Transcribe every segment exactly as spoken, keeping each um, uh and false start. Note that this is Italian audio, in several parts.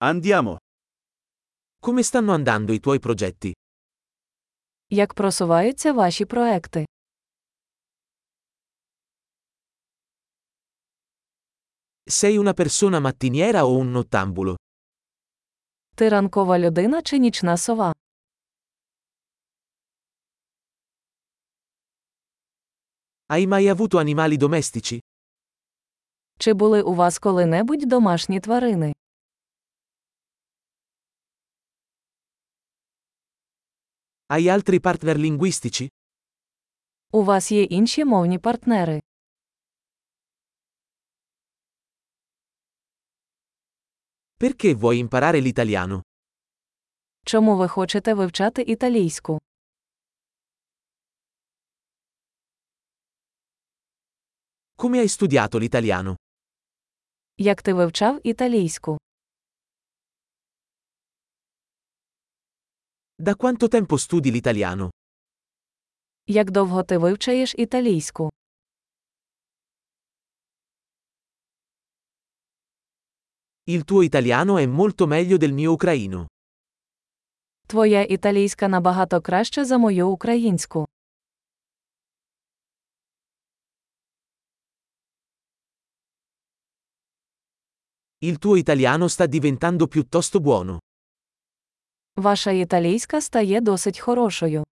Andiamo. Come stanno andando i tuoi progetti? Як просуваються ваші проекти? Sei una persona mattiniera o un nottambulo? Ти ранкова людина чи нічна сова? Hai mai avuto animali domestici? Чи були у вас коли-небудь домашні тварини? Hai altri partner linguistici? У вас є інші мовні партнери? Perché vuoi imparare l'italiano? Чому ви хочете вивчати італійську? Come hai studiato l'italiano? Як ти вивчав італійську? Da quanto tempo studi l'italiano? Як довго ти вивчаєш італійську? Il tuo italiano è molto meglio del mio ucraino. Твоя італійська набагато краща за мою українську. Il tuo italiano sta diventando piuttosto buono. Ваша італійська стає досить хорошою.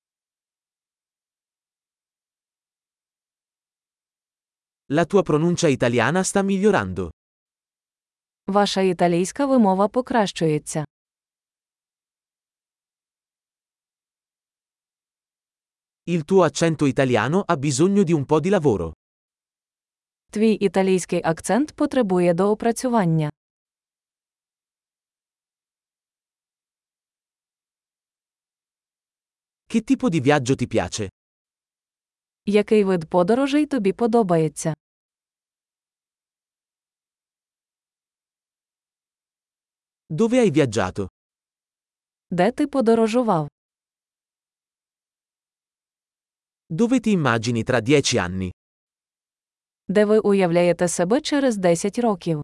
La tua pronuncia italiana sta migliorando. Ваша італійська вимова покращується. Il tuo accento italiano ha bisogno di un po' di lavoro. Твій італійський акцент потребує доопрацювання. Che tipo di viaggio ti piace? Який вид подорожей тобі подобається? Dove hai viaggiato? Де ти подорожував? Dove ti immagini tra dieci anni? Де ви уявляєте себе через десять років?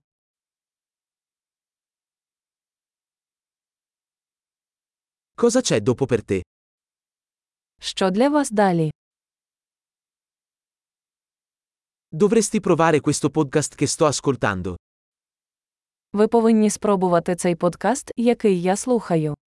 Cosa c'è dopo per te? Що для вас далі? Dovresti provare questo podcast che sto ascoltando. Ви повинні спробувати цей подкаст, який я слухаю.